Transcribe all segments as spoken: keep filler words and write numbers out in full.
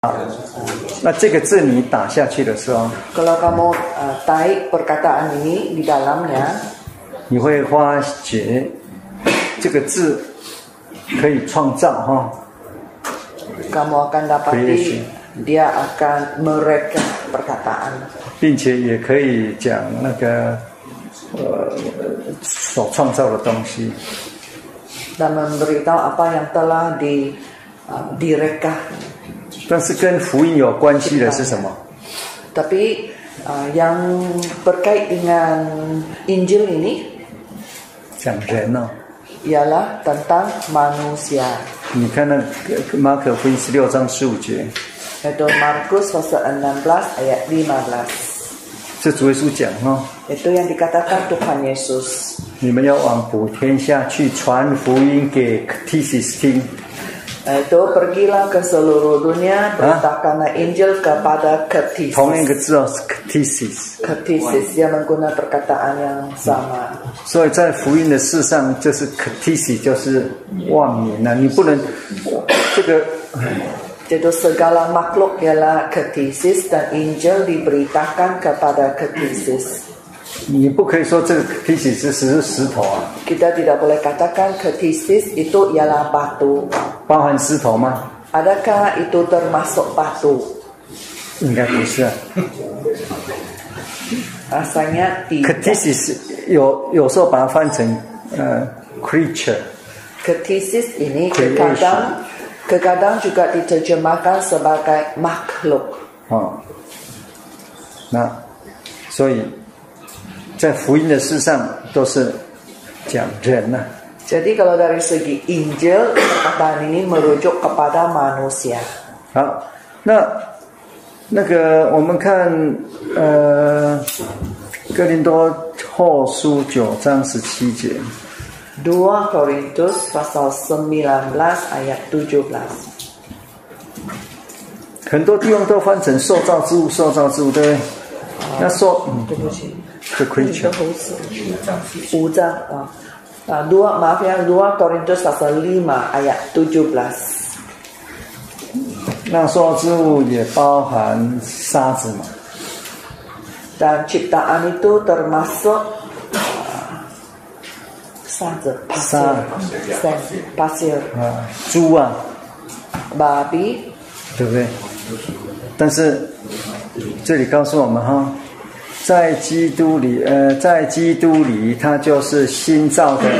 啊，那這個字你打下去的時候 kalau kamu uh, tarik perkataan ini di dalamnya， 你會發覺這個字可以創造哈。 kamu akan dapati dia akan mereka perkataan， 並且也可以講那個呃所創造的東西， dan memberitahu apa yang telah di uh, direka。 但是跟福音有關係的是什麼？ Tapi uh, yang berkait dengan Injil ini 講人哦， ialah tentang manusia。 你看那馬可福音十六章十五節， Itu Markus pasal enam belas ayat lima belas。 這主耶穌講哦， Itu yang dikatakan Tuhan Yesus。 你們要往普天下去傳福音給 Ktisis 聽。 Itu pergilah ke seluruh dunia, beritakanlah Injil kepada Ktisis。 同一個字哦，是 Ktisis。 Ktisis dia menggunakan perkataan yang sama。 所以在福音的事上，就是 Ktisis 就是萬民啊，你不能這個。 Jadi segala makhluk ialah Ktisis dan Injil diberitakan kepada Ktisis。 你不可以說這個 Ktisis 只是石頭啊。 Kita tidak boleh katakan Ktisis itu ialah batu。 包含石頭嗎？ Adakah itu termasuk batu？ 應該不是啊。 Rasanya tidak。 Ktisis 有有時候把它翻成呃 creature。 Ktisis ini kadang kadang juga diterjemahkan sebagai makhluk。 哦，那所以在福音的事上都是講人啊。 Jadi kalau dari segi Injil, perkataan ini merujuk kepada manusia。 好，那那個我們看呃哥林多後書九章十七節。 dua Korintus pasal sembilan belas ayat tujuh belas。 很多地方都翻成受造之物，受造之物，對不對？那說，嗯，對不起 ，the creature。 五章啊。 Uh, dua maaf ya dua Korintus pasal lima ayat tujuh belas。 那受造之物也包含沙子嘛。 Dan ciptaan itu termasuk uh,沙子 pasir, pasir, 啊，豬啊， babi， 對不對？但是這裡告訴我們哈。 在基督裡，呃，在基督裡，它就是新造的，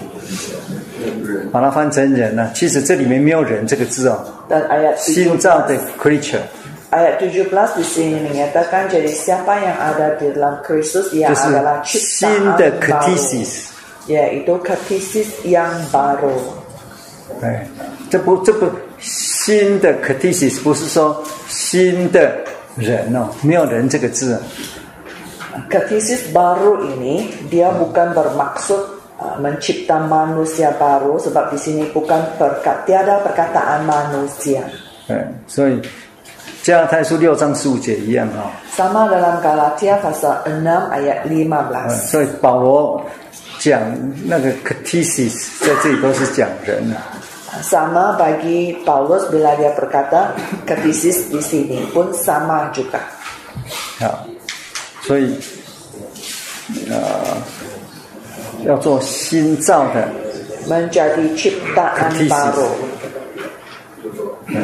把它翻成人了。其實這裡面沒有人這個字哦。新造的 creature。 Ayat tujuh belas di sini menyatakan jadi siapa yang ada di dalam Kristus ia adalah ciptaan baru, yaitu Ktisis yang baru。 哎，這不這不新的 Ktisis 不是說新的人哦，沒有人這個字啊。 Ktisis baru ini dia bukan bermaksud uh, mencipta manusia baru sebab di sini bukan perkat, tiada perkataan manusia。 哎，所以加拉太書六章十五節一樣哈。 Sama dalam Galatia pasal enam ayat lima belas。 所以保羅講那個 Ktisis 在這裡都是講人啊。 Sama bagi Paulus bila dia berkata Ktisis di sini pun sama juga。 好。 所以，呃，要做新造的 menjadi ciptaan baru。 嗯，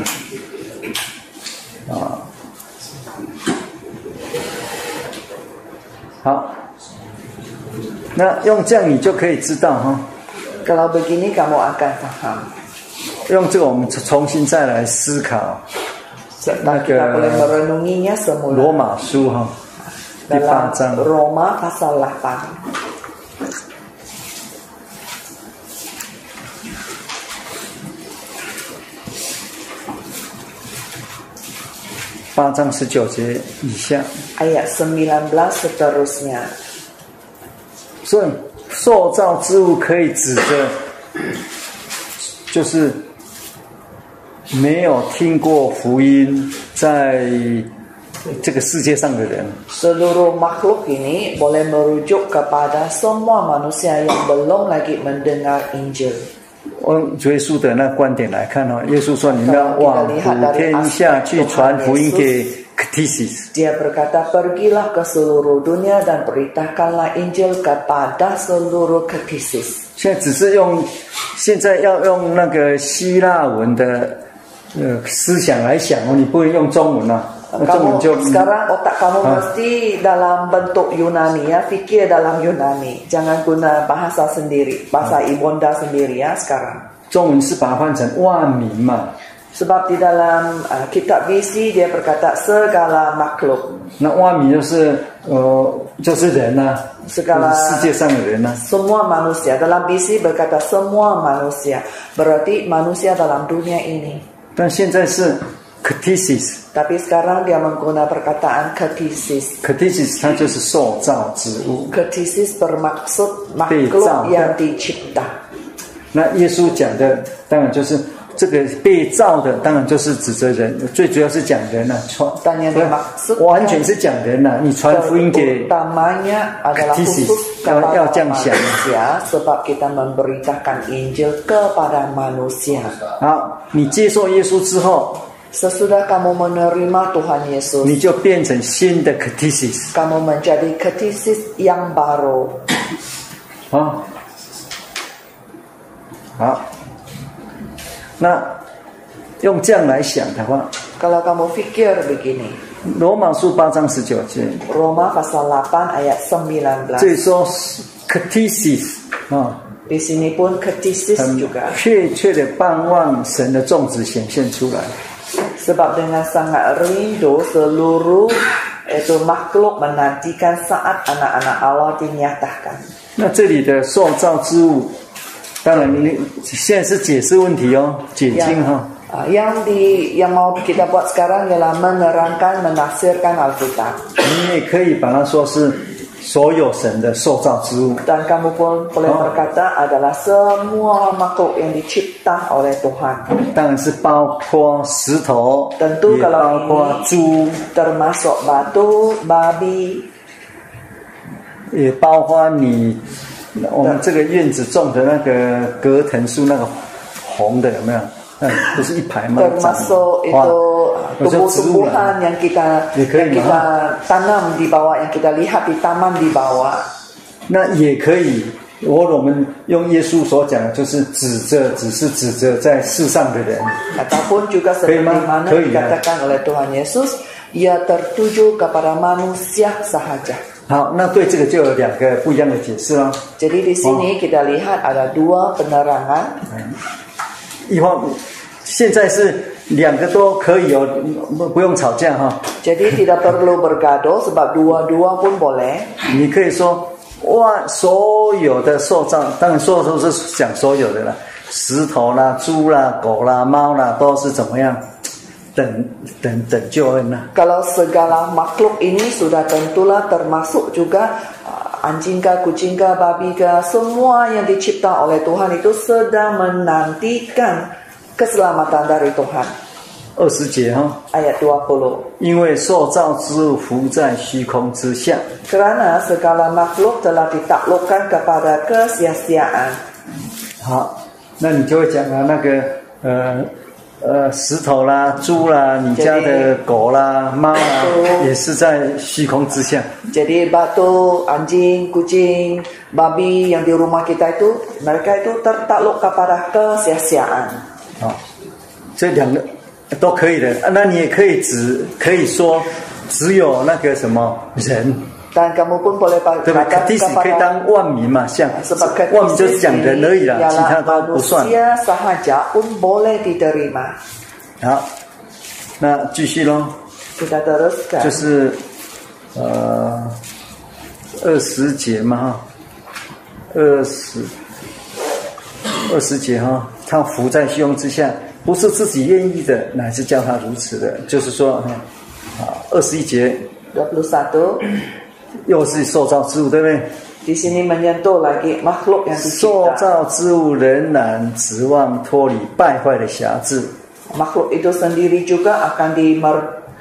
啊，好，那用這樣你就可以知道哈。 Kalau begini kamu akan paham。 用這個我們重新再來思考。那個羅馬書哈。 第八章 Roma pasal delapan。 八章十九節以下 ayat sembilan belas seterusnya。 所以受造之物可以指着就是沒有聽過福音在 這個世界上的人。 Seluruh makhluk ini boleh merujuk kepada semua manusia yang belum lagi mendengar Injil。 用主耶穌的那觀點來看哦，耶穌說：“你們要往普天下去傳福音給 Ktisis。” Dia berkata, pergilah ke seluruh dunia dan beritakanlah Injil kepada seluruh Ktisis. 現在只是用，現在要用那個希臘文的呃思想來想哦，你不能用中文啊。 Kamu sekarang otak kamu mesti dalam bentuk Yunani ya, fikir dalam Yunani, jangan guna bahasa sendiri, bahasa ibunda sendiri ya sekarang. 中文是把它翻成萬民嘛。 Sebab di dalam uh, kitab visi dia berkata segala makhluk. 那萬民就是呃就是人啊， segala 世界上的人啊。 semua manusia. Dalam visi berkata semua manusia, berarti manusia dalam dunia ini. 但现在是 Ktisis. Tapi sekarang dia menggunakan perkataan Ktisis. Ktisis 它就是受造之物。 Ktisis bermaksud makhluk yang dicipta. 那耶穌講的當然就是這個被造的，當然就是指責人，最主要是講人啊，傳，完全是講人啊。你傳福音給 Ktisis 要要這樣想。 sebab kita memberitakan Injil kepada manusia. 好，你接受耶穌之後。 Sesudah kamu menerima Tuhan Yesus, 你就變成新的 Ktisis. kamu menjadi Ktisis yang baru. 好，好，那用這樣來想的話， kalau kamu fikir begini, 羅馬書八章十九節， Roma pasal delapan ayat sembilan belas. 這裡說 Ktisis 啊， di sini pun Ktisis juga. 確切的盼望神的種子顯現出來。 Sebab dengan sangat rindu seluruh itu makhluk menantikan saat anak-anak Allah dinyatakan. 那這裡的受造之物，當然你現在是解釋問題哦，解經哈。 Yang di yang mau kita buat sekarang ialah menerangkan, menafsirkan Alkitab. 你也可以把它說是所有神的受造之物。 Dan kamu pun boleh berkata adalah semua makhluk yang dicipta oleh Tuhan. 當然是包括石頭， tentu 也包括豬， termasuk batu, babi， 也包括你我們這個院子種的那個葛藤樹，那個紅的有沒有？嗯，不是一排嗎？ termasuk itu tumbuh-tumbuhan yang kita yang kita tanam di bawah, yang kita lihat di taman di bawah. 那也可以，我我們用耶穌所講的，就是指着，只是指着在世上的人。 Ataupun juga seperti mana dikatakan oleh Tuhan Yesus, ia tertuju kepada manusia sahaja. 好，那對這個就有兩個不一樣的解釋了。 Jadi di sini kita lihat ada dua penerangan. 一方，現在是兩個都可以哦，不用吵架哈。 Jadi tidak perlu bergaduh sebab dua-dua pun boleh. 你可以說，哇，所有的受造，當然所有都是講所有的啦，石頭啦、豬啦、狗啦、貓啦，都是怎麼樣等等等救恩啦。 Kalau segala makhluk ini sudah tentulah termasuk juga anjing kah, kucing kah, babi kah, semua yang dicipta oleh Tuhan itu sedang menantikan keselamatan dari Tuhan. 二十節哈， ayat dua puluh. 因為受造之物伏在虛空之下。 Kerana segala makhluk telah ditaklukkan kepada kesia-siaan. 好，那你就會講啊，那個呃呃石頭啦、豬啦、你家的狗啦、貓啦，也是在虛空之下。 Jadi batu, anjing, kucing, babi yang di rumah kita itu, mereka itu tertakluk kepada kesia-siaan. 好，這兩個都可以的。那你也可以只可以說只有那個什麼人。 Dan kamu pun boleh berkata kepada 可以當萬民嘛，像萬民就是講人而已啦，其他都不算。 manusia sahaja pun boleh diterima. 好，那繼續咯。 Kita teruskan. 就是呃二十節嘛哈，二十二十節哈，他伏在虛空之下，不是自己願意的，乃是叫他如此的。就是說哈，啊二十一節。 dua puluh satu. 又是受造之物，對不對？ Di sini menyentuh lagi makhluk yang dicipta. 受造之物仍然指望脫離敗壞的轄制。 Makhluk itu sendiri juga akan dimer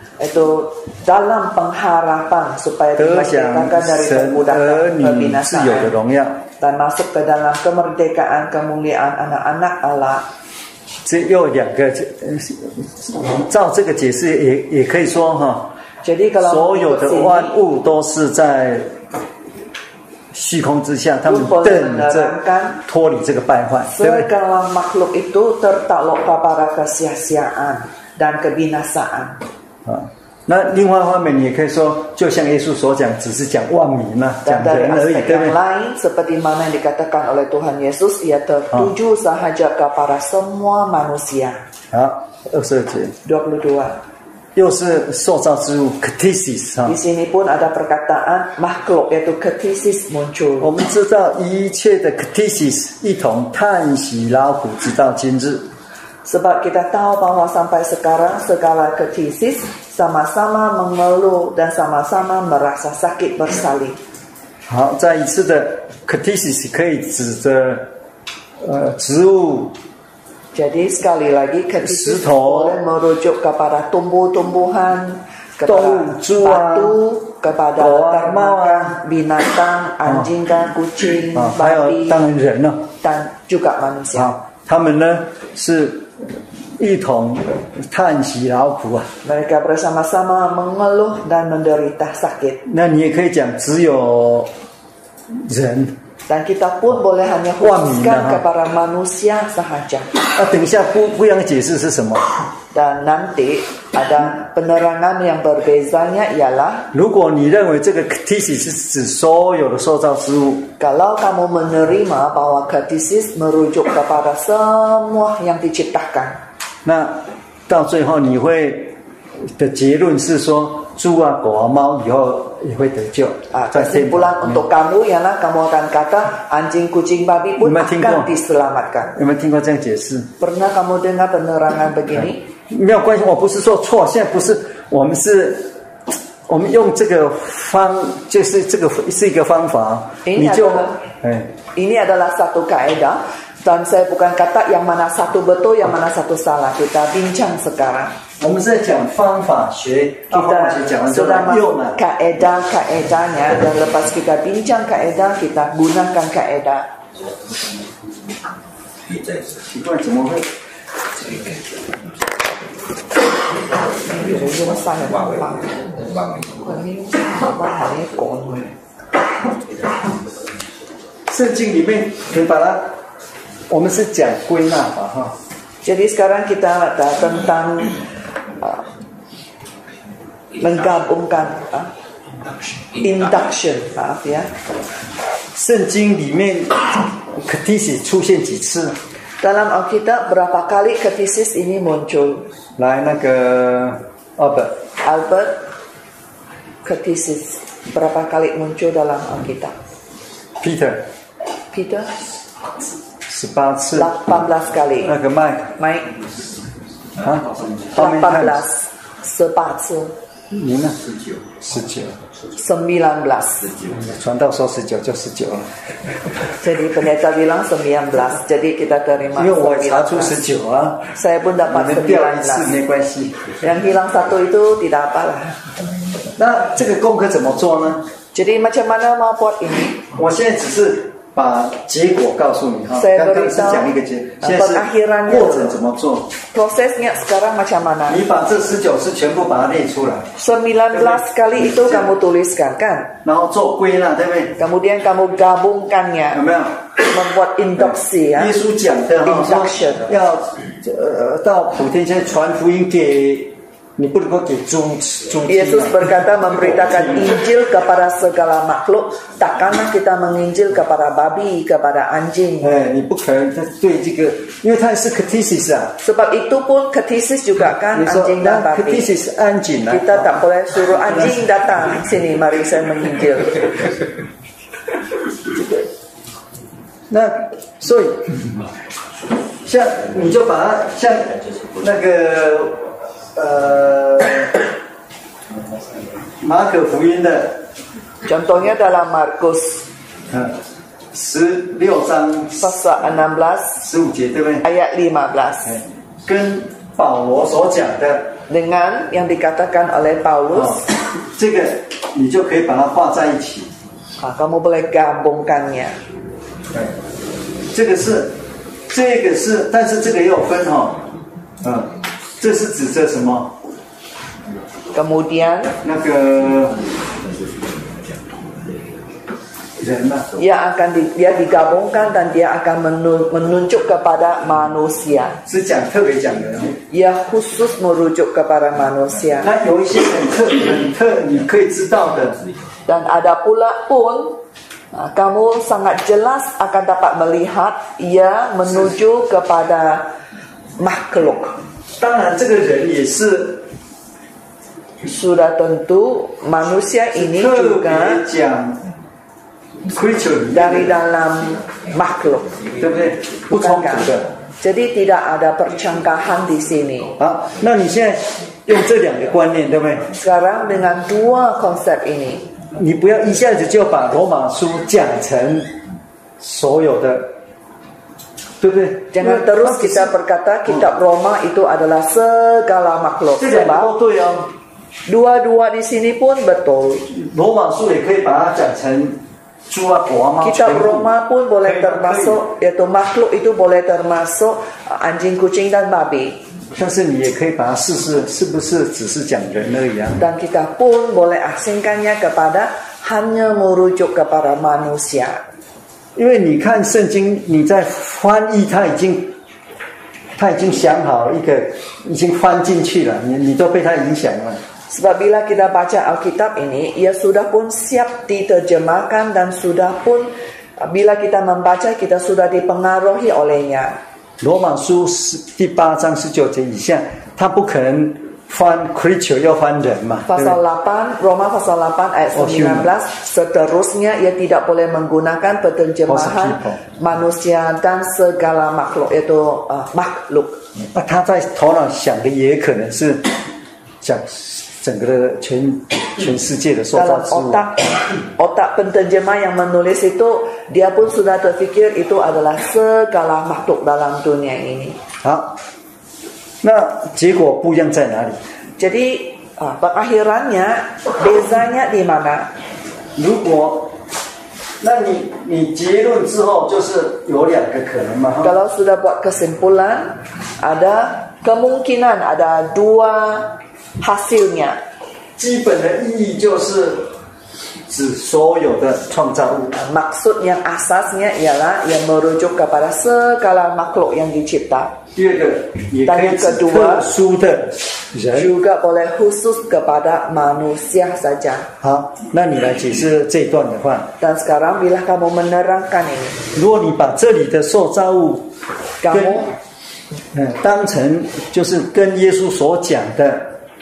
itu dalam pengharapan supaya dimerdekakan dari perbudakan kebinasaan. dan masuk ke dalam kemerdekaan kemuliaan anak-anak Allah. 这又两个，照这个解释也也可以说哈， Jadi kalau 所有的万物都是在虚空之下，他们等着脱離這個敗壞，對不對？ segala makhluk itu tertakluk kepada kesia-siaan dan kebinasaan. 啊，那另外一方面，你也可以說，就像耶穌所講，只是講萬民嘛，講 Dan dari 人而已， aspek 對不 yang 對？ lain, seperti mana yang dikatakan oleh Tuhan Yesus, ia tertuju sahaja kepada semua manusia. 好，二十二節， dua puluh dua. 又是受造之物 ，kthesis 哈 Di。sini pun ada perkataan makhluk, yaitu kthesis 我 muncul. 們知道一切的 kthesis 一同嘆息勞苦，直到今日。 Sebab kita tahu bahwa sampai sekarang segala kthesis sama-sama mengeluh dan sama-sama merasa sakit bersalin. 好，再一次的 kthesis 可以指着呃植物。 Jadi sekali lagi kthesis Sito. boleh merujuk kepada tumbuh-tumbuhan, kepada Tou, batu, kepada Goa, ternakan, binatang, anjing, kucing, 啊，还有 babi, 当然人呢， dan juga manusia. 啊，他們呢是一同嘆息勞苦啊。 Mereka bersama-sama mengeluh dan menderita sakit. 那你也可以講，只有人。 Dan kita pun boleh hanya khususkan kepada manusia sahaja. 啊，等一下不不一樣的解釋是什麼？ Dan nanti ada penerangan yang berbezanya ialah 如果你認為這個 kthesis 是指所有的受造之物， kalau kamu menerima bahwa kthesis merujuk kepada semua yang diciptakan, 那到最後你會的結論是說，豬啊、狗啊、貓以後也會得救。 ah, kesimpulan untuk kamu ialah kamu akan kata anjing, kucing, babi pun akan diselamatkan. 有沒有聽過這樣解釋？ Pernah kamu dengar penerangan begini? 沒有關係，我不是說錯，現在不是，我們是，我們用這個方，就是這個是一個方法， Ini 你就， adalah, 哎， ini adalah satu kaedah dan saya bukan kata yang mana satu betul, yang mana satu salah. Kita bincang sekarang. 我們是在講方法學， Kita 講完之後 sudah 用 masuk 了。 kaedah-kaedahnya dan lepas kita bincang kaedah, kita gunakan kaedah. 奇怪，怎麼會？ 聖經裡面，你把它，我們是講歸納吧，哈。 Jadi sekarang kita ada tentang uh, menggabungkan uh, induction, maaf ya. 聖經裡面 kthesis 出現幾次？ Dalam Alkitab berapa kali kthesis ini muncul? 來，那個 Albert， Albert, kthesis berapa kali muncul dalam Alkitab? Peter， Peter, 十八次。 delapan belas kali. 那個 Mike， Mike, 啊 ，How many delapan times？ belas, 十八次. 你呢？十九，十九。 sembilan belas. 傳道說十九就十九了。 Jadi pendeta bilang sembilan belas. Jadi kita terima 因為我查出 sembilan belas. 十九啊， Saya pun 你 dapat 們掉一 sembilan 次 belas. 沒關係。 Yang hilang satu itu tidak apalah. 那這個功課怎麼做呢？ Jadi macam mana mau buat ini? 我現在只是把結果告訴你哈， Saya 剛剛是 beritahu 講一個結，現在是過程怎麼做。 Prosesnya sekarang macam mana? 你把這十九次全部把它列出來， sembilan belas kali itu kamu tuliskan kan? 然後做歸納，對不對？ Kemudian kamu gabungkannya, 有沒有？ membuat induksi ya. 耶穌講的哈， Induction. 說要呃到普天間傳福音給。 你不能夠給豬豬 Yesus berkata memberitakan Injil kepada segala makhluk. Takkanlah kita menginjil kepada babi, kepada anjing. 哎，你不可能對這個，因為它是 kthesis 啊。 Sebab itu pun kthesis juga kan anjing dan babi. kthesis 安靜啊。 Kita tak boleh suruh anjing datang sini, mari saya menginjil. 那所以，像你就把它像那個。 呃，馬可福音的 Contohnya dalam Markus 十六章 pasal enam belas 十五節，對不對？ ayat lima belas 跟保羅所講的 dengan yang dikatakan oleh Paulus， 哦，這個你就可以把它畫在一起。 ah, kamu boleh gabungkannya。 這個是，這個是，但是這個也有分哈，嗯，這是指着什麼？ Kemudian 那個人啊， ia akan di, dia digabungkan dan dia akan menunjuk kepada manusia. 是講特別講的。 Ia khusus merujuk kepada manusia. 那有一些很特很特，你可以知道的。 Dan ada pula pun kamu sangat jelas akan dapat melihat ia menuju kepada makhluk. 當然，這個人也是。 Sudah tentu manusia ini juga dari dalam makhluk, bukan kan? Jadi tidak ada percangkahan di sini. 好，那你现在用这两个观念，对不对？ Sekarang dengan dua konsep ini, 你不要一下子就把羅馬書講成所有的，對不對？ Jangan terus kita berkata kitab Roma itu adalah segala makhluk. 這兩個都對哦。 Dua-dua di sini pun betul. 羅馬書也可以把它講成豬啊、狗啊、貓。 Kitab Roma pun boleh termasuk, yaitu makhluk itu boleh termasuk anjing, kucing dan babi. 但是你也可以把它試試，是不是只是講人而已啊？ Dan kita pun boleh asingkannya kepada hanya merujuk kepada manusia. 因為你看聖經，你在翻譯，它已經。 他已經想好一個，已經翻進去了，你你都被他影響了。 Sebab bila kita baca Alkitab ini, ia sudah pun siap diterjemahkan dan sudah pun bila kita membaca kita sudah dipengaruhi olehnya. 羅馬書第八章十九節以下，他不可能翻 creature 要翻人嘛。 Pasal delapan, Roma pasal delapan ayat sembilan belas, seterusnya ia tidak boleh menggunakan penerjemahan manusia dan segala makhluk, yaitu uh, makhluk. 那他在頭腦想的也可能是講整個的全全世界的受造之物。 Otak otak penterjemah yang menulis itu dia pun sudah terfikir itu adalah segala makhluk dalam dunia ini. 好，那結果不一樣在哪裡？ Jadi uh, pengakhirannya bezanya di mana? 如果那你你結論之後就是有兩個可能嘛？ Kalau sudah buat kesimpulan, ada kemungkinan ada dua hasilnya. 基本的意義就是指所有的創造物。 Maksud yang asasnya ialah yang merujuk kepada segala makhluk yang dicipta. 第二個也可以指特殊的人 juga boleh khusus kepada manusia saja. 好，那你來解釋這一段的話。 Dan sekarang bila kamu menerangkan ini, 如果你把這裡的受造物 kamu 嗯當成就是跟耶穌所講的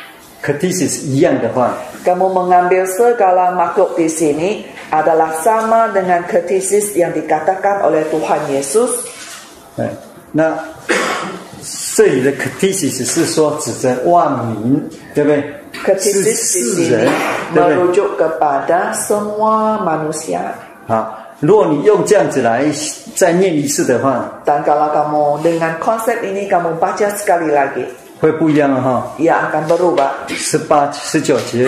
Catesis 一樣的話， kamu mengambil segala makhluk di sini adalah sama dengan Catesis yang dikatakan oleh Tuhan Yesus. 嗯，那這裡的 Catesis 是說指着萬民，對不對？ Catesis di sini merujuk kepada semua manusia. 好，如果你用這樣子來再念一次的話， Dan kalau kamu dengan konsep ini kamu baca sekali lagi, 會不一樣哈。 ia akan berubah. 十八、十九節，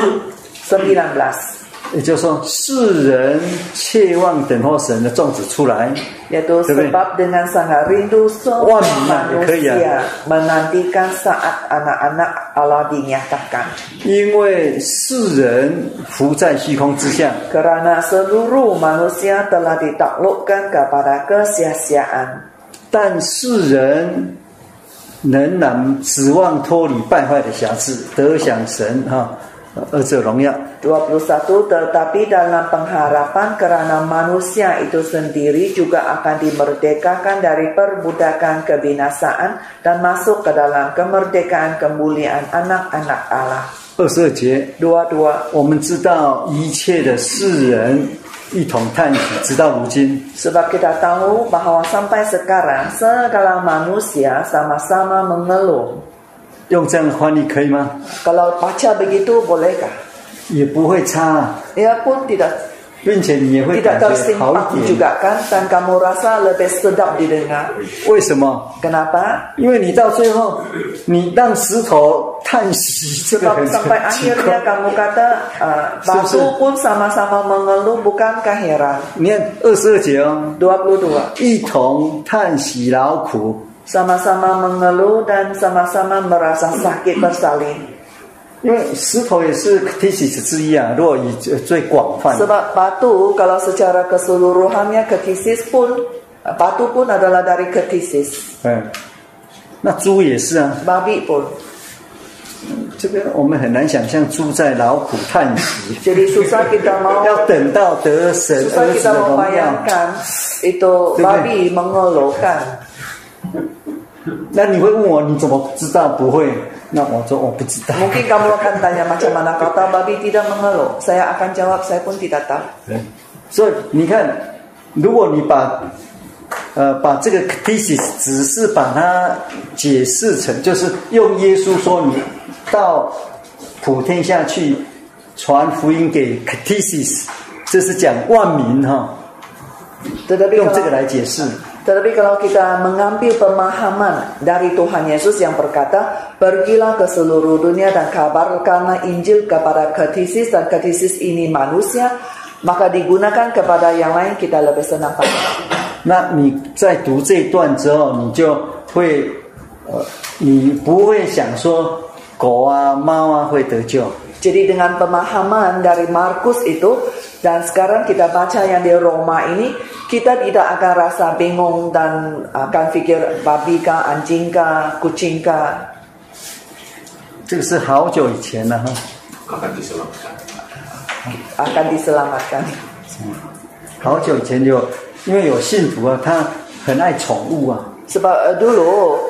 sembilan belas， 也就是說，世人切望等候神的種子出來， yaitu sebab dengan sangat rindu semua manusia menantikan saat anak-anak Allah dinyatakan. 因為世人伏在虛空之下， Kerana seluruh manusia telah ditaklukkan kepada kesia-siaan. 但世人仍然指望脫離敗壞的轄制，得享神哈兒子榮耀。 dua puluh satu Tetapi dalam pengharapan kerana manusia itu sendiri juga akan dimerdekakan dari perbudakan kebinasaan dan masuk ke dalam kemerdekaan kemuliaan anak-anak Allah. 二十二節， dua puluh dua， 我們知道一切的世人一同嘆息，直到如今。 Sebab kita tahu bahwa sampai sekarang segala manusia sama-sama mengeluh. 用這樣的翻譯可以嗎？ Kalau baca begitu bolehkah? 也不會差。 Ia pun tidak 并且你也会 tidak 感觉好 tersimpan 一点。 juga kan, dan kamu rasa lebih sedap didengar. 为什么？ Kenapa? 因为你到最后，你让石头叹息，这个 Sebab 很 sampai 奇 akhirnya 怪。 kamu kata uh, batu pun sama-sama mengeluh, bukankah heran? 你看二十二节哦， dua puluh dua 一同叹息劳苦。 sama-sama mengeluh dan sama-sama merasa sakit bersalin. 因为石头也是 thesis 之一啊，如果以最广泛。 Sebab batu kalau secara keseluruhannya kethesis pun, batu pun adalah dari kethesis. 嗯，那猪也是啊。 Babi pun. 这个我们很难想象猪在劳苦叹息。 Jadi susah kita mau 要等到得神 susah 儿子 kita 的荣耀。 membayangkan itu babi mengeluhkan. 那你会问我你怎么知道不会？那我说我不知道。 Mungkin kamu akan tanya macam mana kata babi tidak mengeluh. Saya akan jawab saya pun tidak tahu. 所以你看，如果你把呃把这个 thesis 只是把它解释成，就是用耶稣说你到普天下去传福音给 thesis， 这是讲万民哈， Tetapi 用这个 kalau, 来解释。 tetapi kalau kita mengambil pemahaman dari Tuhan Yesus yang berkata, pergilah ke seluruh dunia dan kabarkanlah Injil kepada kethesis, dan kethesis ini manusia, maka digunakan kepada yang lain kita lebih senang pada. 那你在读这一段之后，你就会呃，你不会想说狗啊、猫啊会得救。 Jadi dengan pemahaman dari Markus itu, dan sekarang kita baca yang di Roma ini, kita tidak akan rasa bingung dan akan pikir babi kah, anjing kah, kucing kah. 这个是好久以前了哈。 Akan diselamatkan. 好久以前有，因为有信徒啊，他很爱宠物啊。 Sebab dulu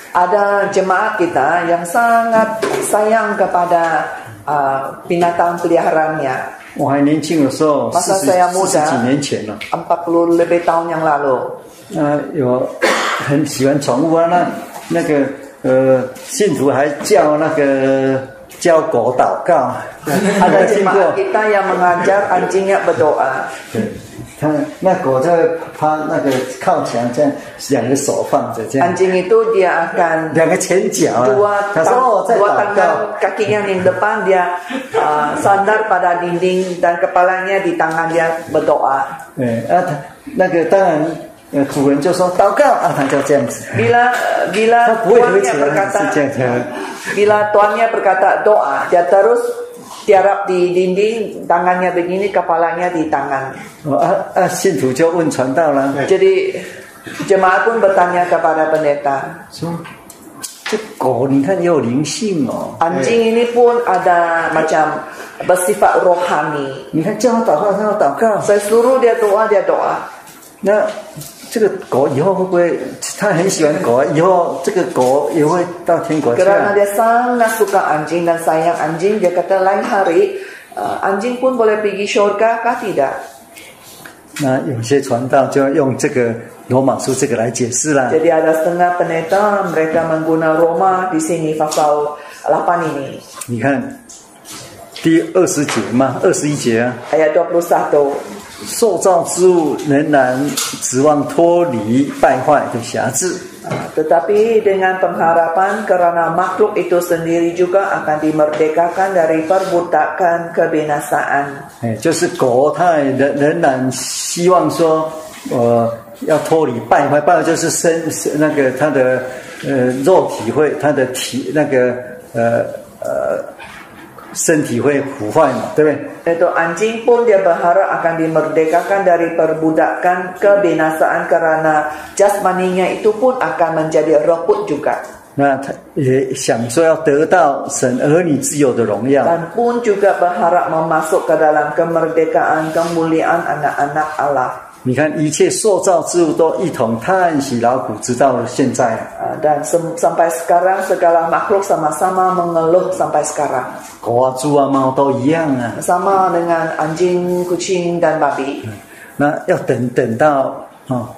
ada jemaat kita yang sangat sayang kepada uh, binatang peliharaannya. 我还年轻的时候，四 Masa 十 saya 四十 muda, 几年前了， empat puluh lebih tahun yang lalu. 呃，有很喜欢宠物啊，那那个呃，信徒还叫那个教狗祷告， Ada jemaat kita yang mengajar anjingnya berdoa. 对，他那狗在趴那个靠墙这样，两个手放着这样， Anjing itu dia akan 两个前脚啊 dua, 他说哦，在 dua 祷 tangan 告。 kaki yang di depan dia uh, sandar pada dinding dan kepalanya di tangan dia berdoa. 对啊，他那个当然，呃，主人就说祷告啊，他就这样子。 Bila bila 他不会合 tuannya 起来， berkata 是这样子。 bila tuannya berkata doa, dia terus tiarap di dinding, tangannya begini, kepalanya di tangan. 哦啊啊，信徒就问传道了， Jadi jemaat pun bertanya kepada pendeta, 说这狗你看也有灵性哦， anjing ini pun ada macam bersifat rohani. 你看叫他祷告，他要祷告。 Saya suruh dia doa, dia doa. 那这个狗以后会不会？他很喜欢狗啊，以后这个狗也会到天国去 Kerana 啊？ dia sangat suka anjing dan sayang anjing, dia kata lain hari uh, anjing pun boleh pergi syurga kah tidak? 那有些传道就用这个罗马书这个来解释啦。 Jadi ada setengah pendeta mereka mengguna Roma di sini pasal delapan ini. 你看第二十节嘛，二十一节啊， Ayat dua puluh satu. 受造之物仍然指望脱離敗壞的轄制。 Tetapi dengan pengharapan kerana makhluk itu sendiri juga akan dimerdekakan dari perbudakan kebinasaan. 哎，就是狗，它也仍仍然希望说，呃，要脱離敗壞，敗壞就是身那個它的呃肉體會，它的體那個呃呃身體會腐壞嘛，對不對？ Itu anjing pun dia berharap akan dimerdekakan dari perbudakan kebinasaan kerana jasmaninya itu pun akan menjadi reput juga. 那他也想說要得到神兒女自由的榮耀， Dan pun juga berharap memasuk ke dalam kemerdekaan kemuliaan anak-anak Allah. 你看一切受造之物都一同嘆息勞苦，直到現在。 Dan sem- sampai sekarang segala makhluk sama-sama mengeluh sampai sekarang. 狗啊、豬啊、貓都一樣啊。 Sama dengan anjing, kucing dan babi. 那要等等到啊、哦，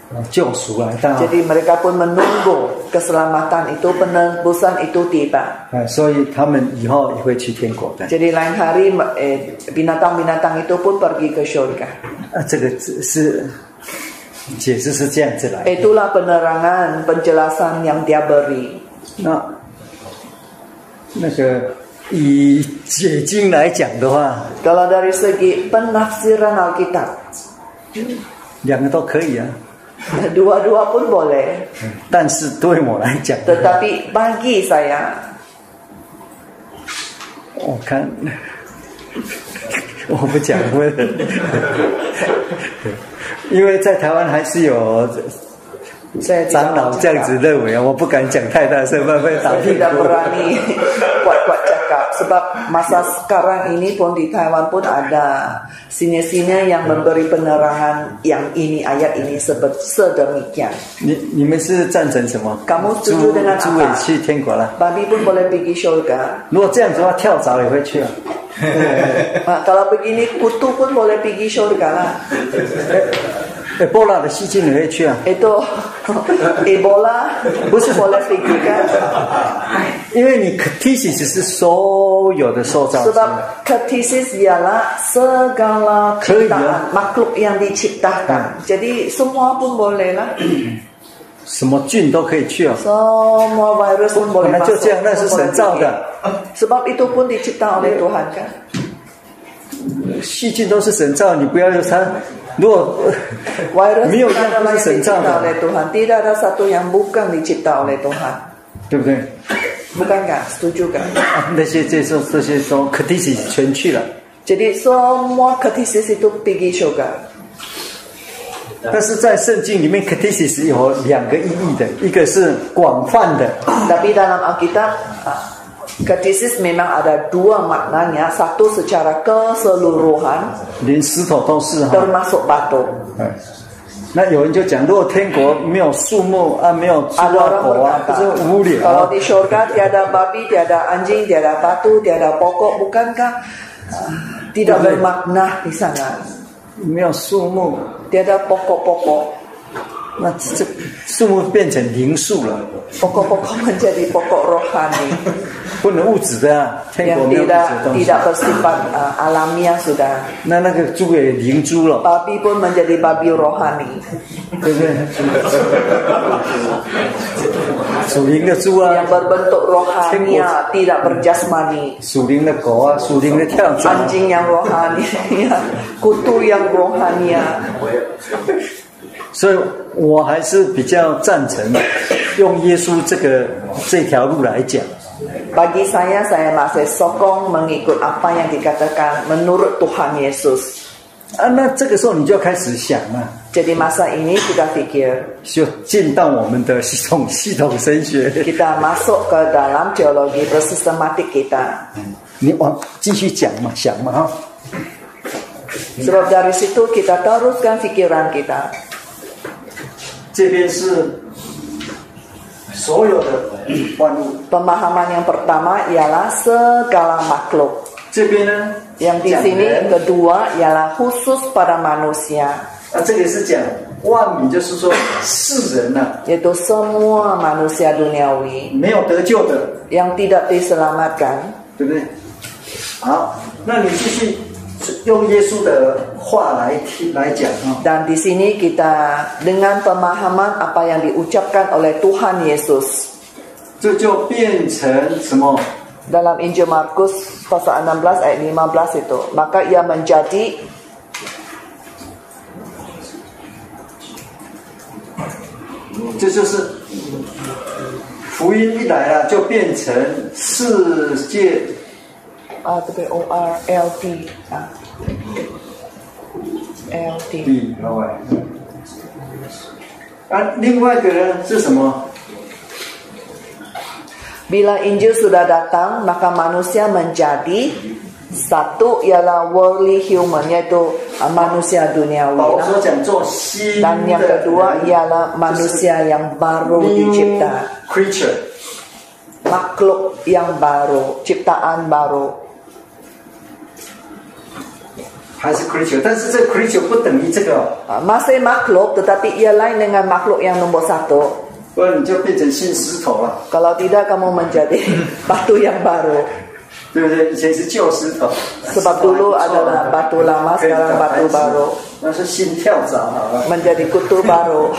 救赎来到。 Jadi mereka pun menunggu keselamatan itu, penebusan itu tiba. 所以他们以后也会去天国的。 Jadi lain hari eh, binatang-binatang itu pun pergi ke surga. 啊，这个是解释是这样子来。 Itulah penerangan, penjelasan yang dia beri. 那那个以解经来讲的话， Kalau dari segi penafsiran Alkitab, 两个都可以啊。 dua-dua pun boleh. 但是对我来讲， Tetapi bagi saya, 我看我不讲了，因为在台湾还是有 saya 长老这样子认为啊，我不敢讲太大声，怕被打屁股。 tidak berani kuat-kuat cakap sebab masa sekarang ini pun di Taiwan pun ada sini-sini yang memberi penerangan yang ini ayat ini sedemikian. 你你们是赞成什么？ Kamu setuju dengan 猪也 apa? 去天国了。 Babi pun boleh pergi surga. 如果这样子的话，跳蚤也会去啊。 Nah, kalau begini kutu pun boleh pergi surga lah. Ebola 的细菌也会去啊。 Itu Ebola 不是 boleh pergi kan? 因为你 ktisis 是所有的受造之物。 Sebab ktisis ialah segala ciptaan makhluk yang diciptakan. Jadi semua pun boleh lah. 什么菌都可以去啊。 Semua virus pun boleh 本来就 masuk. 这样，那是神造的。 Sebab itu pun dicipta oleh Tuhan kan? 细菌都是神造，你不要用它。如果 virus 没有一 bukan 样 ada 不 yang 是神造 dicipta 的， oleh Tuhan. Tidak ada satu yang bukan dicipta oleh Tuhan. 对不对？ Bukan kan? Setuju kan? 啊，那些这些这些都 ktisis 全去了。 Jadi semua ktisis itu pergi surga. 但是在圣经里面 ktisis 有两个意义的，一个是广泛的。 Tapi dalam Alkitab, ktisis memang ada dua maknanya. Satu secara keseluruhan, 连石头都是哈。 termasuk batu. 哎，那有人就讲，如果天国没有树木啊，没有猪 Ada 啊 orang 狗啊，不 berkata, 是无聊 kalau 啊？ di surga tiada babi, tiada anjing, tiada batu, tiada pokok, bukankah uh, tidak bermakna di sana? 没有树木， Tiada pokok-pokok. 那这树木变成灵树了， Pokok-pokok menjadi pokok rohani 不能物质的啊，天国 yang 没有物质 tidak 的东西。 tidak bersifat uh, alamiah sudah. 那那个猪也灵猪了， Babi pun menjadi babi rohani. 对不对？属灵的猪啊， Yang berbentuk rohania, tidak berjasmani. 属灵的狗啊，属灵的跳蚤啊。 Anjing yang rohani, kutu yang rohania. 所以我还是比较赞成用耶稣这个这条路来讲。 Bagi saya, saya masih sokong mengikut apa yang dikatakan menurut Tuhan Yesus. 啊，那这个时候你就要开始想了， Jadi masa ini kita pikir, 就进到我们的系统系统神学。 kita masuk ke dalam teologi bersistematik kita. 你往继续讲嘛，想嘛哈。 Sebab dari situ kita teruskan pikiran kita. 这边是所有的万物， Pemahaman yang pertama ialah segala makhluk. 这边呢， Yang di sini kedua ialah khusus pada manusia. 啊，这个是讲万民，就是说世人呐、啊， Yaitu semua manusia duniawi 没有得救的， yang tidak diselamatkan. 对不对？好，那你继续用耶稣的话来听来讲啊。 Dan di sini kita dengan pemahaman apa yang diucapkan oleh Tuhan Yesus. 这就变成什么？ Dalam Injil Markus pasal enam belas ayat lima belas itu, maka ia menjadi "这就是福音一来了，就变成世界 ah tu O R L T ah L T 地老外。啊，另外一个呢是什么？ Bila Injil sudah datang, maka manusia menjadi satu ialah worldly human, yaitu manusia duniawi. 保罗所讲做新的 Dan yang kedua ialah manusia yang baru dicipta, creature， makhluk yang baru, ciptaan baru. 還是 creature， 但是這個 creature 不等於這個、哦。 Masih makhluk, tetapi ia lain dengan makhluk yang nombor satu. 不然你就變成新石頭了。 Kalau tidak kamu menjadi batu yang baru. 對不對？以前是舊石頭。 Sebab dulu adalah batu lama, sekarang batu baru. 那是心跳蚤好了。 Menjadi kutu baru.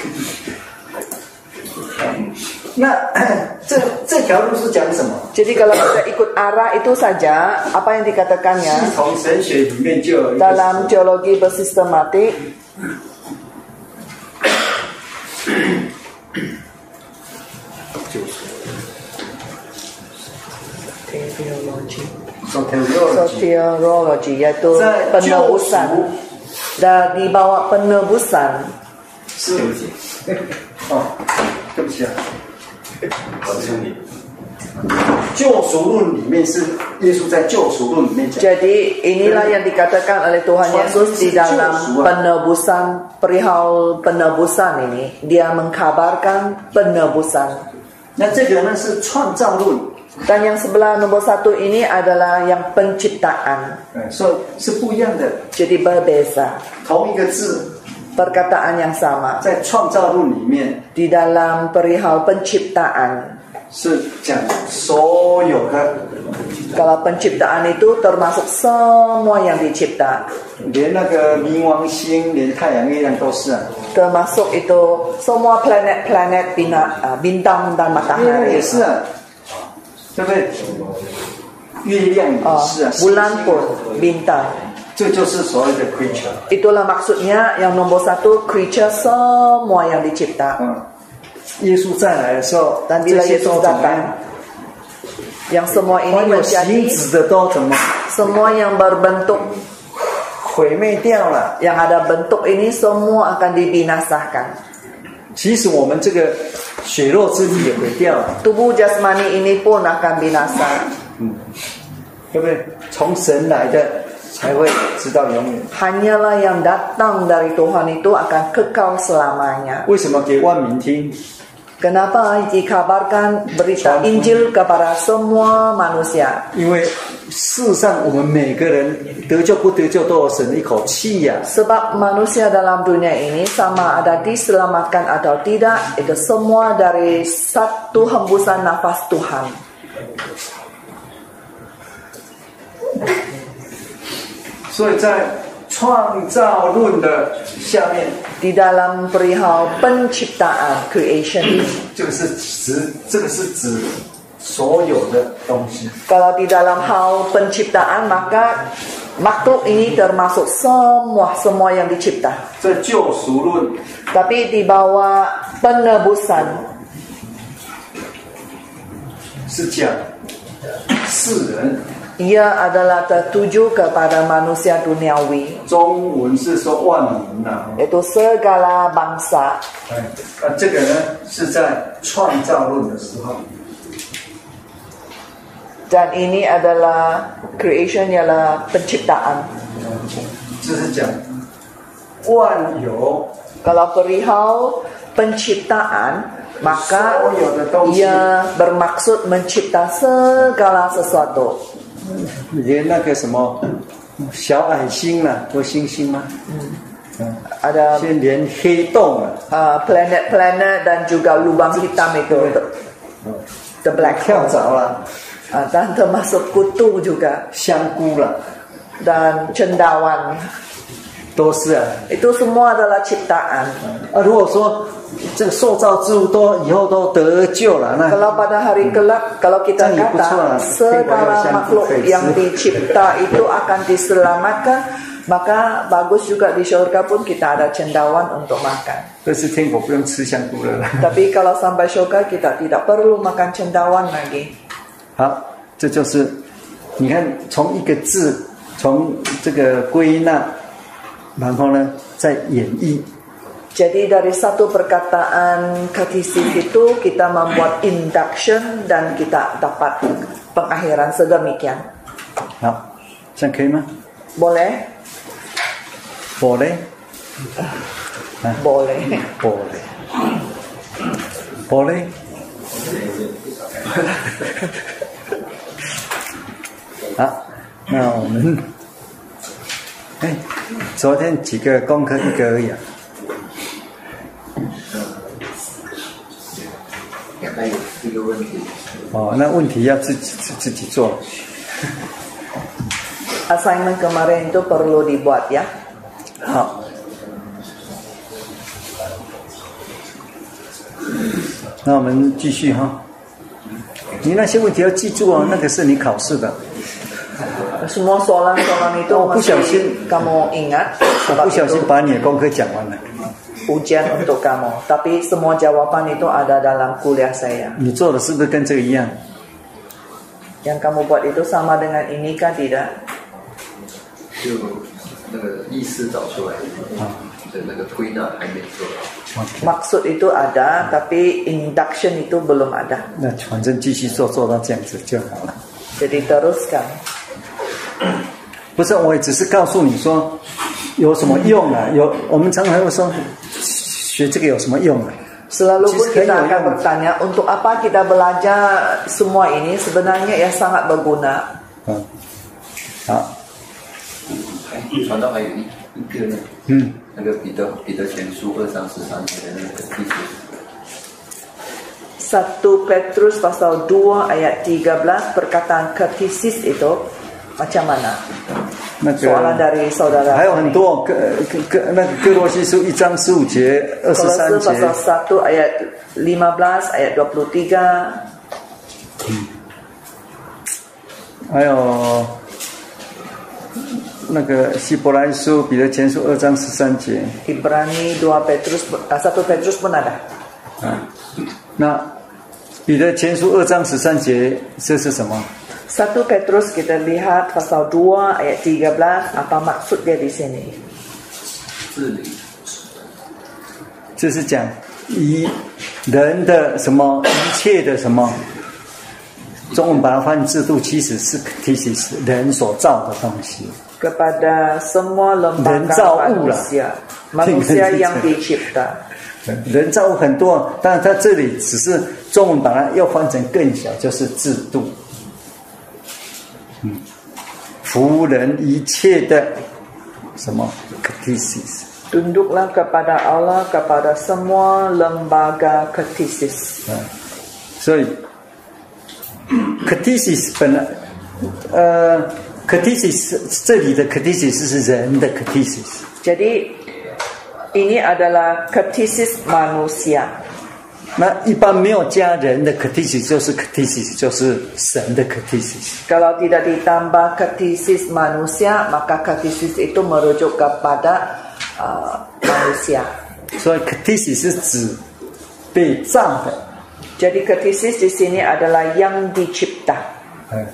那這這條路是講什麼？ Jadi kalau kita ikut arah itu saja, apa yang dikatakannya? 系統神學裡面就有一個 Dalam teologi bersistematik, teologi, soteriologi, yaitu penebusan. Dan di bawah penebusan. 是哦，對不起啊。救贖論裡面是耶穌在救贖論裡面講。 Jadi inilah yang dikatakan oleh Tuhan Yesus di dalam penebusan, perihal penebusan ini, dia mengkabarkan penebusan. 那這個呢是創造論。 Dan yang sebelah nombor satu ini adalah yang penciptaan. So 是不一樣的。 Jadi berbeza. 同一個字。 Perkataan yang sama. 在創造論裡面， di dalam perihal penciptaan 是講所有的。 Kalau penciptaan itu termasuk semua yang dicipta. 連那個冥王星，連太陽、月亮都是啊。 Termasuk itu semua planet-planet bintang dan matahari. 也是啊，對不對？月亮也是啊。 Bulan pun bintang. 這就是所謂的 creature. Itulah maksudnya yang nombor satu creature semua yang dicipta. 嗯，耶穌再來的時候， dan bila Yesus datang, yang semua ini menjadi semua yang berbentuk 毀滅掉了， yang ada bentuk ini semua akan dibinasakan. 其實我們這個血肉之體也毀掉了， tubuh jasmani ini pun akan binasa. 嗯，對不對？從神來的。 才會直到永遠。 Hanyalah yang datang dari Tuhan itu akan kekal selamanya. 為什麼給萬民聽？ Kenapa dikabarkan berita Injil kepada semua manusia? 因為世上我們每個人得救不得救都有神的一口氣呀。 Sebab manusia dalam dunia ini sama ada diselamatkan atau tidak, itu semua dari satu hembusan nafas Tuhan. 所以在創造論的下面， di dalam perihal penciptaan creation， 這個是指這個是指所有的東西。 Kalau di dalam hal penciptaan maka makhluk ini termasuk semua semua yang dicipta. 這救贖論， Tapi di bawah penebusan 是講世人。 ia adalah tertuju kepada manusia duniawi. 中文是說萬民吶， Itu segala bangsa. 哎，啊，這個呢是在創造論的時候。 Dan ini adalah creation ialah penciptaan. 就是講萬有。 Kalau perihal penciptaan maka ia bermaksud mencipta segala sesuatu. 連那個什麼小矮星啦，或星星嗎？嗯， ada 先連黑洞啊， uh, planet-planet dan juga lubang hitam itu, the black hole. 跳蚤啦， uh, dan termasuk kutu juga, 香菇啦， dan cendawan. 都是啊。 Itu semua adalah ciptaan. 啊，如果說這個受造之物都以後都得救了，那 Kalau pada hari kelak, kalau kita kata segala makhluk yang dicipta itu akan diselamatkan, maka bagus juga di surga pun kita ada cendawan untuk makan. 但是天國不用吃香菇了。 Tapi kalau sampai surga kita tidak perlu makan cendawan lagi. 好，這就是你看從一個字，從這個歸納，然後呢再演繹。 Jadi dari satu perkataan katesis itu kita membuat induction dan kita dapat pengakhiran sedemikian. 好，這樣可以嗎？ Boleh? Boleh? Boleh. Boleh. Boleh? 好，那我們，哎， 哎，昨天幾個功課一個而已啊。 還有一個問題。 哦，那問題要自己自己做。 Assignment kemarin itu perlu dibuat ya. 好。那我們繼續哈。你那些問題要記住哦，那個是你考試的。 Semua soalan-soalan itu mesti kamu ingat. 我不小心把你的功課講完了。 Ujian untuk kamu, tapi semua jawaban itu ada dalam kuliah saya. 你做的是不是跟這個一樣？ Yang kamu buat itu sama dengan ini kan tidak? 就那個意思找出來的那個推納還沒做。 Maksud itu ada, tapi induction itu belum ada. 那反正繼續做，做到這樣子就好了。 Jadi teruskan. 不是，我也只是告訴你說有什麼用啊？有，我們常常會說學這個有什麼用啊？ Selalu pun kita akan bertanya untuk apa kita belajar semua ini sebenarnya ya sangat berguna. 嗯，好。 傳道還有一一個呢，嗯，那個彼得彼得前書二章十三節的那個意思。 satu Petrus pasal dua ayat tiga belas perkataan katesis itu macam mana? 那個 soalan dari saudara. 還有很多哥哥哥那個哥羅西書一章十五節、二十三節。 pasal satu ayat lima belas ayat dua puluh tiga。 嗯。還有那個希伯來書彼得前書二章十三節。 Ibrani dua Petrus satu Petrus pun ada。 啊，那彼得前書二章十三節這是什麼 ？satu Petrus kita lihat pasal dua ayat tiga belas apa maksud dia di sini? 這是講以人的什麼一切的什麼，中文把它翻制度，其實是其實是人所造的東西。 Kepada semua lembaga manusia, manusia yang dicipta。 人造物很多，但它這裡只是中文把它要翻成更小，就是制度。嗯，服人一切的什麼 katesis。 Tunduklah kepada Allah kepada semua lembaga katesis。 嗯，所以 katesis 本來，呃 katesis 這裡的 katesis 是人的 katesis。 Jadi ini adalah katesis manusia。 那一般沒有加人的 katesis 就是 katesis 就是神的 katesis。 Kalau tidak ditambah katesis manusia, maka katesis itu merujuk kepada uh, manusia。 所以 katesis 是指被造的。 Jadi katesis di sini adalah yang dicipta。 嗯。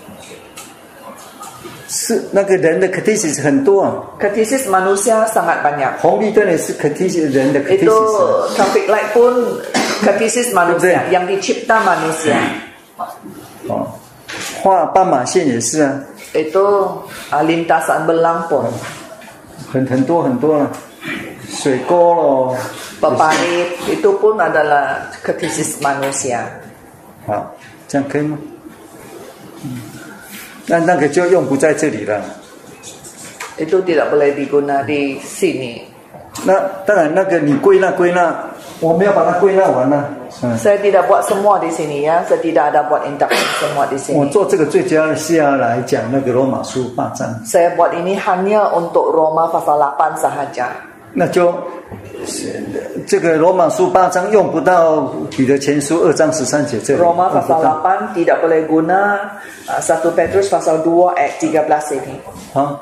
是那個人的 katesis 很多啊 katesis manusia sangat banyak。 紅綠燈也是 katesis 人的 katesis。 Itu traffic light pun katesis manusia， yang dicipta manusia。 哦，畫斑馬線也是啊。 Itu lintasan belang pun。 很很多很多啊，水溝咯。 Peparit itu pun adalah katesis manusia。 好，這樣可以嗎？嗯。那那個就用不在這裡了。 Itu tidak boleh diguna di sini。 那當然，那個你歸納歸納，我沒有把它歸納完了。嗯。 Saya tidak buat semua di sini ya, saya tidak ada buat induction semua di sini。 我做這個最主要是要來講那個羅馬書八章。 Saya buat ini hanya untuk Roma pasal lapan sahaja。 那就這個羅馬書八章用不到彼得前書二章十三節這裡。 Roma pasal lapan tidak boleh guna satu Petrus pasal dua ayat tiga belas ini。 好，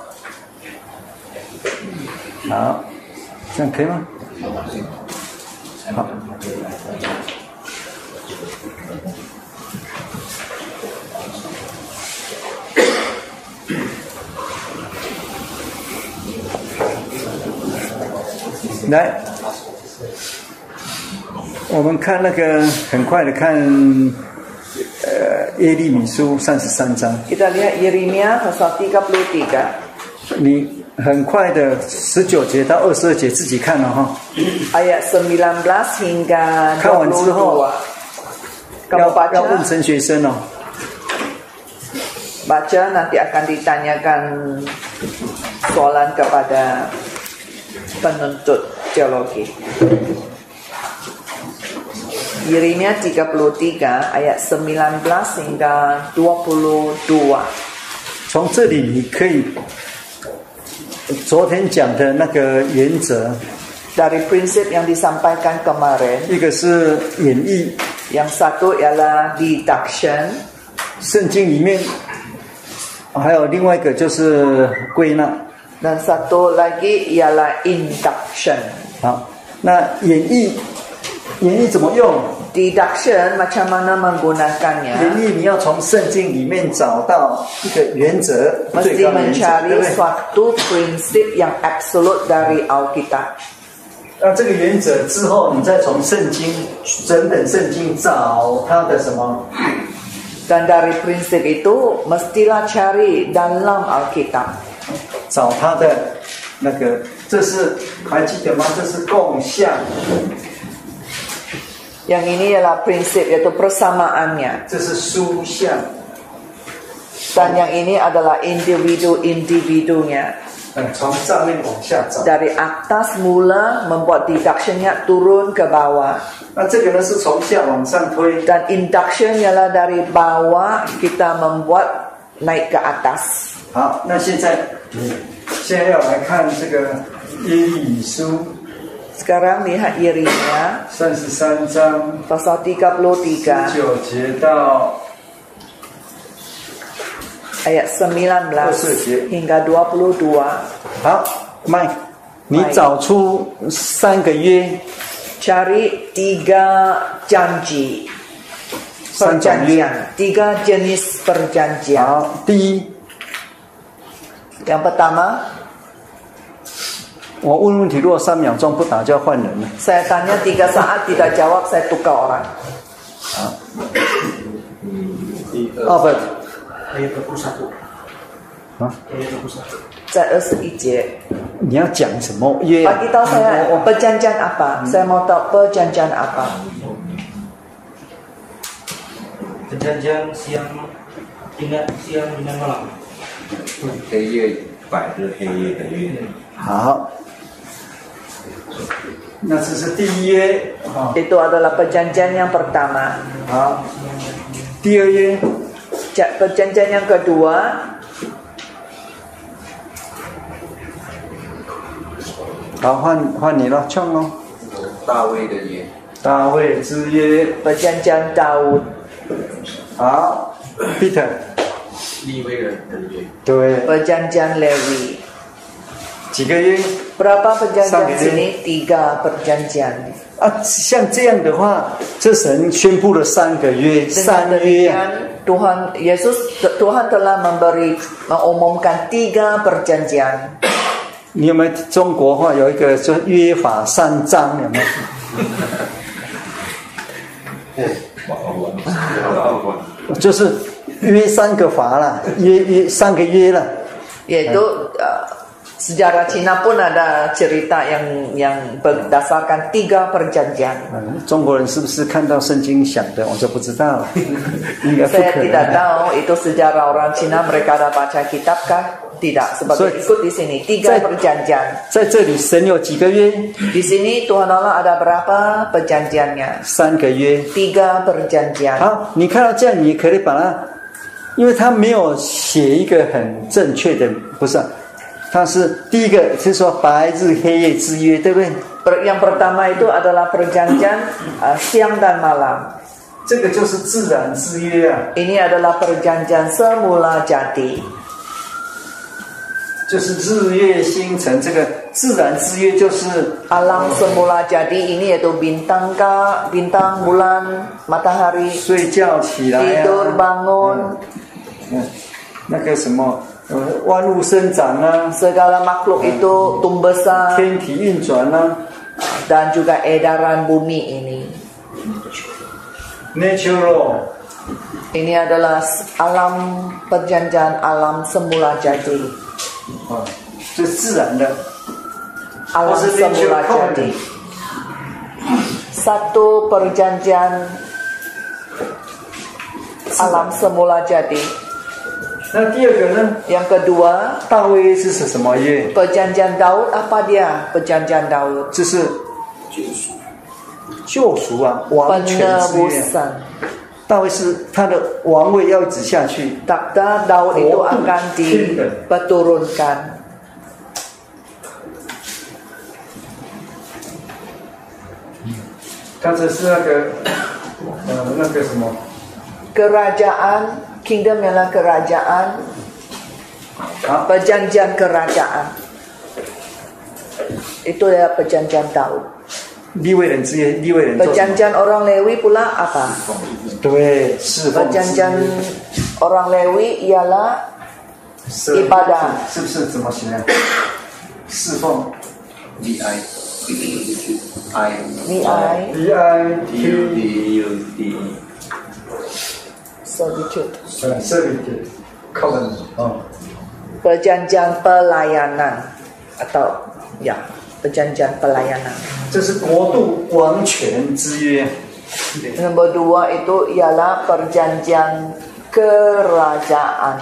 好，這樣可以嗎？好。來，我們看那個很快的看，呃，耶利米書三十三章。 Kita lihat Yeremia pasal tiga puluh tiga。 你很快的十九節到二十二節自己看了哈。 Ayat sembilan belas hingga dua puluh dua。 看完之後，要要問陳學生哦。 Baca nanti akan ditanyakan soalan kepada penuntut teologi. Yeremia tiga puluh tiga ayat sembilan belas hingga dua puluh dua. 从这里你可以昨天讲的那个原则 dari prinsip yang disampaikan kemarin, 一个是演绎 yang satu ialah deduction 圣经里面还有另外一个就是归纳 dan satu lagi ialah induction. 好，那演绎演绎怎么用 Deduction macam mana 演 menggunakannya? 绎你要从圣经里面找到一个原则 Mesti 最高原则 mencari 对不对 suatu prinsip yang absolut dari Alkitab. 那这个原则之后你再从圣经整本圣经找它的什么 Dan dari prinsip itu mestilah cari dalam Alkitab. 找它的那个这是还记得吗？这是共相 Yang ini ialah prinsip, yaitu persamaannya. 这是殊相 Dan yang ini adalah individu-individunya. 嗯，从上面往下找 Dari atas mula membuat deductionnya turun ke bawah. 那这个呢是从下往上推 Dan induction ialah dari bawah kita membuat naik ke atas. 好，那现在现在要来看这个耶利米书 Sekarang lihat Yeremia 三十三章 pasal tiga puluh tiga 十九节到 ayat sembilan belas hingga dua puluh dua. 好，麦，你找出三个约， Cari tiga janji 三种约。 perjanjian, tiga jenis perjanjian. 好，第一， Yang pertama, 我问问题，如果三秒鐘不答就要換人了。 saya tanya tiga saat tidak jawab, saya tukar orang. 好，哦不， ayat dua puluh satu. 啊， ayat dua puluh satu. 在二十一节， 你要講什麼約？ bagi tahu saya perjanjian apa? Saya mau tahu perjanjian apa. Perjanjian siang dengan siang dengan malam. 黑夜百日黑夜的约。 好，那這是第一約。好， Itu adalah perjanjian yang pertama. 好，第二約， Perjanjian yang kedua, 好，換換你了，唱咯。 大衛的約。 大衛之約。 perjanjian Daud. 好 ，Peter。 利未人的約。 對。 Perjanjian Lewi. 幾個約？ Berapa perjanjian sini? Tiga perjanjian. 啊，像這樣的話，這神宣布了三個約，三約啊。 Tuhan Yesus Tuhan telah memberi mengumumkan tiga perjanjian. 你有沒有中國話有一個就約法三章有沒有？就是約三個法啦，約約三個約啦。 Yaitu uh, sejarah Cina pun ada cerita yang yang berdasarkan tiga perjanjian. 嗯，中國人是不是看到聖經想的？我就不知道了，應該不 Saya 可能。 tidak tahu itu sejarah orang Cina, mereka ada baca kitab kah? Tidak, sebab So, ikut di sini tiga 在 perjanjian. 在這裡神有幾個約？ Di sini Tuhan Allah ada berapa perjanjiannya? 三個約。 Tiga perjanjian. 好，你看到這樣，你可以把它，因為他沒有寫一個很正確的，不是、啊，他是第一個是說白日黑夜之約，對不對？ Yang pertama itu adalah perjanjian uh, siang dan malam. 這個就是自然之約啊。 Ini adalah perjanjian semula jadi. 就是日月星辰，這個自然之約就是 alam semula jadi ini yaitu bintang ka, bintang, bulan, matahari. 睡覺起來啊 tidur bangun. 嗯，那個什麼，呃，萬物生長啊， segala makhluk itu tumbuh besar 天體運轉啊 dan juga edaran bumi ini. Natural. Ini adalah alam perjanjian alam semula jadi. 啊，是自然的。 Alam semula jadi. Satu perjanjian alam semula jadi. 那第二個呢？ Yang kedua, 大衛是什麼約？ Perjanjian Daud apa dia? Perjanjian Daud 這是救贖啊，王權之約。大衛是他的王位要一直下去。 Takhta Daud itu akan diperturunkan. 他這是那個呃那個什麼 Kerajaan, kingdom ialah kerajaan. Perjanjian kerajaan. Itu adalah perjanjian Daud. 利未人之約，利未人。 Perjanjian orang Lewi pula apa? 對，侍奉。 Perjanjian orang Lewi ialah ibadah. 是不是怎麼寫呢？侍奉。 V I I V I V I D U D Servitude. Servitude. Covenant. Oh. Perjanjian pelayanan atau ya perjanjian pelayanan. 這是國度王權之約。 Nombor dua itu ialah perjanjian kerajaan.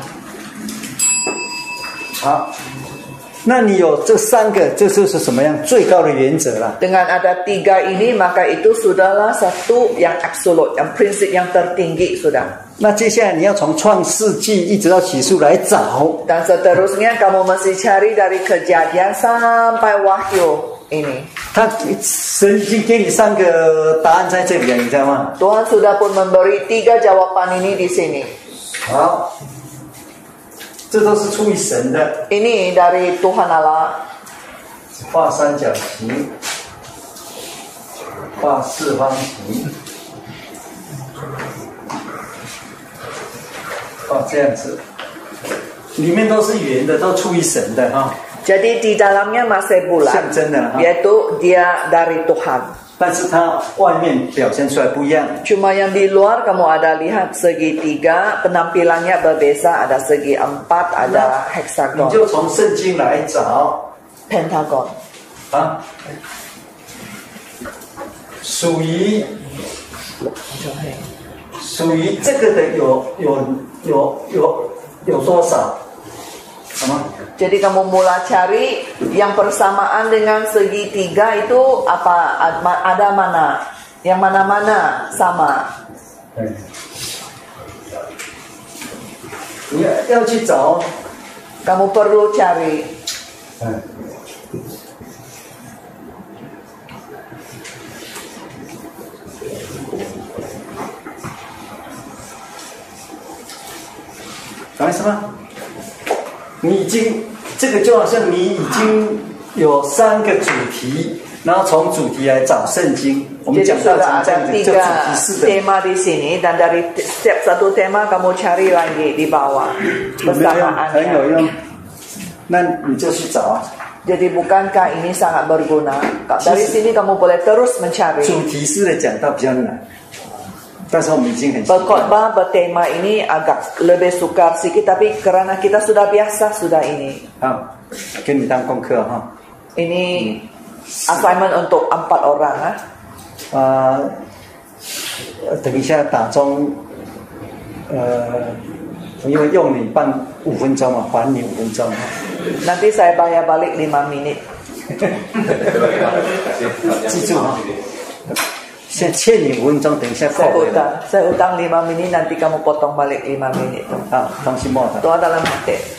好，那你有這三個，這就是什麼樣最高的原則了。 Dengan ada tiga ini maka itu sudahlah satu yang absolut, yang prinsip yang tertinggi sudah. 那接下來你要從創世紀一直到啟示來找。 Dan seterusnya kamu mesti cari dari kejadian sampai wahyu ini. 他神已經給你三個答案在這裡，你知道嗎？ Tuhan sudah pun memberi tiga jawaban ini di sini. 好，這都是出於神的。 Ini dari Tuhan Allah. 畫三角形，畫四方形。哦，這樣子，裡面都是圓的，都出於神的哈。 Jadi di dalamnya masih bulat, 象徵的哈。 yaitu dia dari Tuhan. 但是它外面表現出來不一樣。 Cuma yang di luar kamu ada lihat segitiga, penampilannya berbeza, ada segi empat, ada heksagon. 你就從聖經來找 Pentagon. 啊，屬於屬於這個的有有有有有多少？什麼？ Jadi kamu mulai cari yang persamaan dengan segitiga itu apa? Ada mana? Yang mana-mana sama? 你要去找。 Kamu perlu cari. 搞什麼？你已經這個就好像你已經有三個主題，然後從主題來找聖經。我們講到講這樣子，就主題式的。 tema di sini dan dari setiap satu tema kamu cari lagi di bawah persamaannya. 很有用，那你就去找。 Jadi bukankah ini sangat berguna? Dari sini kamu boleh terus mencari. 主題式的講到比較難。 但是我們已經很習慣。 Berkhotbah bertema ini agak lebih sukar sedikit, tapi karena kita sudah biasa sudah ini. 好，給你當功課哈。 Ini assignment untuk empat orang. Ha? 啊，等一下打鐘，呃，因為用你辦五分鐘嘛，還你五分鐘。 Nanti saya bayar balik lima menit. 記住哈。 先欠你五分鐘，等一下扣回來。 Saya utang lima menit, nanti kamu potong balik lima menit. 好，東西莫的。 Doa dalam hati.